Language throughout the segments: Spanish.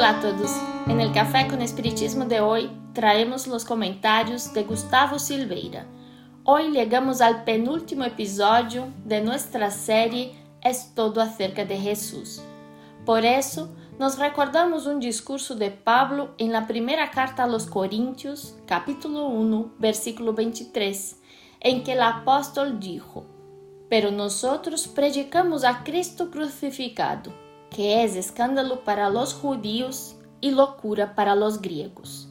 Hola a todos. En el Café con Espiritismo de hoy traemos los comentarios de Gustavo Silveira. Hoy llegamos al penúltimo episodio de nuestra serie Es todo acerca de Jesús. Por eso, nos recordamos un discurso de Pablo en la primera carta a los Corintios, capítulo 1, versículo 23, en que el apóstol dijo: Pero nosotros predicamos a Cristo crucificado, que es escándalo para los judíos y locura para los griegos.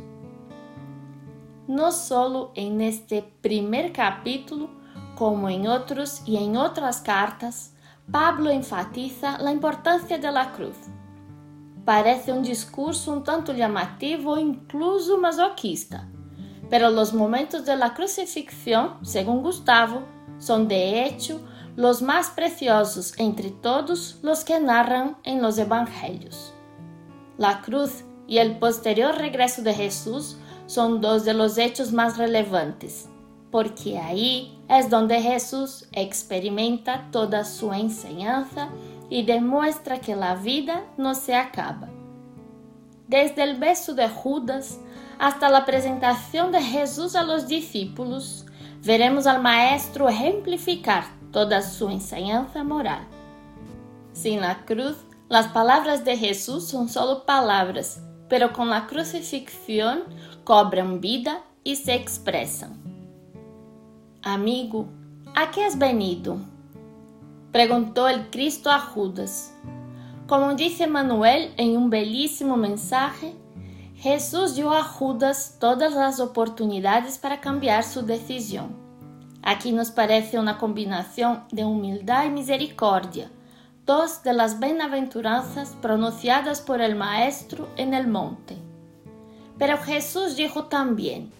No solo en este primer capítulo, como en otros y en otras cartas, Pablo enfatiza la importancia de la cruz. Parece un discurso un tanto llamativo e incluso masoquista, pero los momentos de la crucifixión, según Gustavo, son de hecho los más preciosos entre todos los que narran en los evangelios. La cruz y el posterior regreso de Jesús son dos de los hechos más relevantes, porque ahí es donde Jesús experimenta toda su enseñanza y demuestra que la vida no se acaba. Desde el beso de Judas hasta la presentación de Jesús a los discípulos, veremos al Maestro ejemplificar toda su enseñanza moral. Sin la cruz, las palabras de Jesús son solo palabras, pero con la crucifixión cobran vida y se expresan. Amigo, ¿a qué has venido?, preguntó el Cristo a Judas. Como dice Manuel en un bellísimo mensaje, Jesús dio a Judas todas las oportunidades para cambiar su decisión. Aquí nos parece una combinación de humildad y misericordia, dos de las bienaventuranzas pronunciadas por el Maestro en el monte. Pero Jesús dijo también: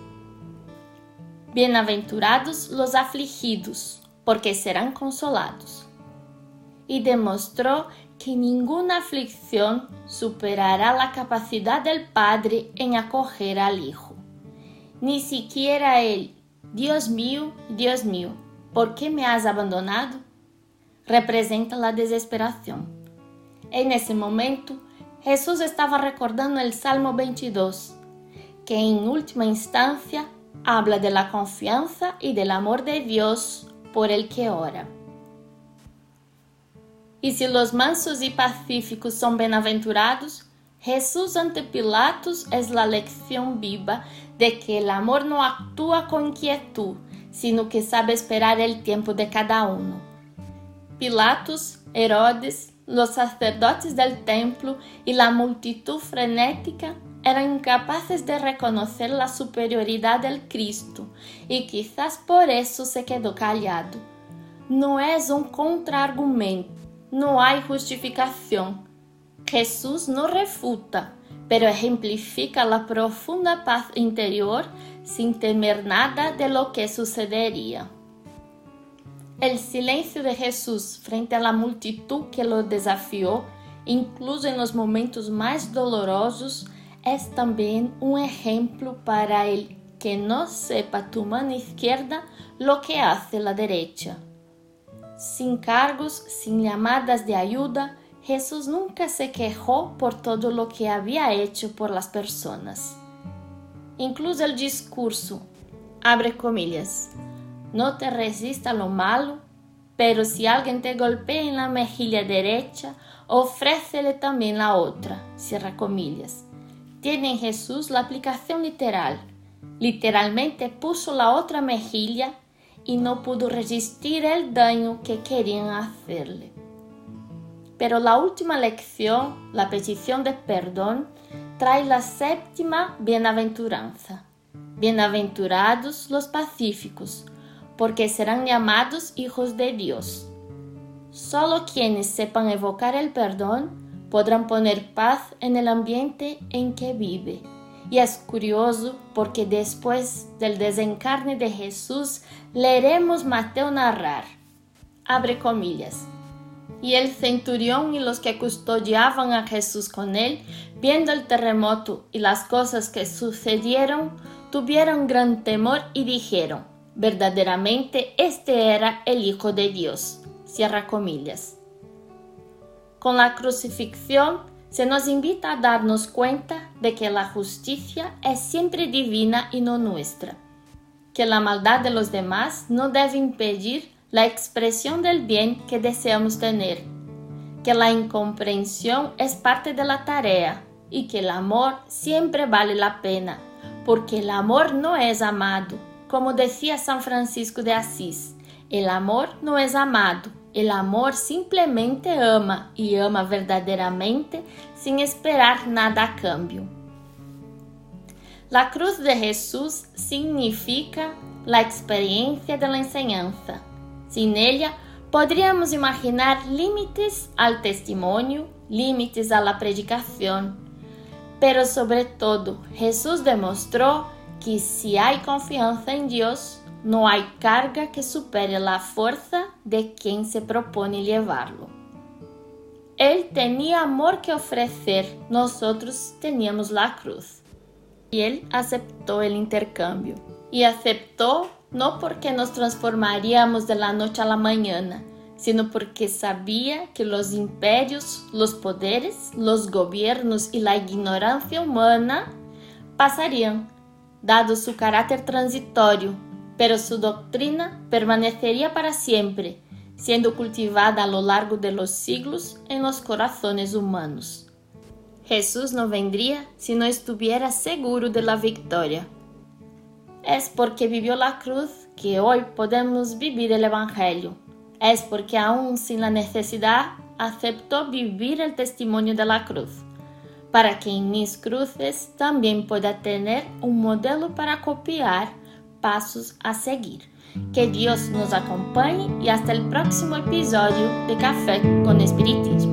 Bienaventurados los afligidos, porque serán consolados. Y demostró que ninguna aflicción superará la capacidad del Padre en acoger al Hijo. Ni siquiera el Dios mío, ¿por qué me has abandonado?, representa la desesperación. En ese momento, Jesús estaba recordando el Salmo 22, que en última instancia habla de la confianza y del amor de Dios por el que ora. Y si los mansos y pacíficos son bienaventurados, Jesús ante Pilatos es la lección viva de que el amor no actúa con inquietud, sino que sabe esperar el tiempo de cada uno. Pilatos, Herodes, los sacerdotes del templo y la multitud frenética eran incapaces de reconocer la superioridad del Cristo y quizás por eso se quedó callado. No es un contraargumento, no hay justificación. Jesús no refuta, pero ejemplifica la profunda paz interior sin temer nada de lo que sucedería. El silencio de Jesús frente a la multitud que lo desafió, incluso en los momentos más dolorosos, es también un ejemplo para el que no sepa tu mano izquierda lo que hace la derecha. Sin cargos, sin llamadas de ayuda, Jesús nunca se quejó por todo lo que había hecho por las personas. Incluso el discurso, abre comillas, no te resista lo malo, pero si alguien te golpea en la mejilla derecha, ofrécele también la otra, cierra comillas. Tiene en Jesús la aplicación literal. Literalmente puso la otra mejilla y no pudo resistir el daño que querían hacerle. Pero la última lección, la petición de perdón, trae la séptima bienaventuranza. Bienaventurados los pacíficos, porque serán llamados hijos de Dios. Solo quienes sepan evocar el perdón podrán poner paz en el ambiente en que vive. Y es curioso porque después del desencarne de Jesús leeremos Mateo narrar, abre comillas, y el centurión y los que custodiaban a Jesús con él, viendo el terremoto y las cosas que sucedieron, tuvieron gran temor y dijeron: verdaderamente este era el Hijo de Dios. Cierra comillas. Con la crucifixión se nos invita a darnos cuenta de que la justicia es siempre divina y no nuestra, que la maldad de los demás no debe impedir la expresión del bien que deseamos tener, que la incomprensión es parte de la tarea y que el amor siempre vale la pena, porque el amor no es amado. Como decía San Francisco de Asís, el amor no es amado, el amor simplemente ama y ama verdaderamente sin esperar nada a cambio. La cruz de Jesús significa la experiencia de la enseñanza. Sin ella, podríamos imaginar límites al testimonio, límites a la predicación. Pero sobre todo, Jesús demostró que si hay confianza en Dios, no hay carga que supere la fuerza de quien se propone llevarlo. Él tenía amor que ofrecer, nosotros teníamos la cruz. Y Él aceptó el intercambio. Y aceptó no porque nos transformaríamos de la noche a la mañana, sino porque sabía que los imperios, los poderes, los gobiernos y la ignorancia humana pasarían, dado su carácter transitorio, pero su doctrina permanecería para siempre, siendo cultivada a lo largo de los siglos en los corazones humanos. Jesús no vendría si no estuviera seguro de la victoria. Es porque vivió la cruz que hoy podemos vivir el Evangelio. Es porque aún sin la necesidad aceptó vivir el testimonio de la cruz, para que en mis cruces también pueda tener un modelo para copiar, pasos a seguir. Que Dios nos acompañe y hasta el próximo episodio de Café con Espiritismo.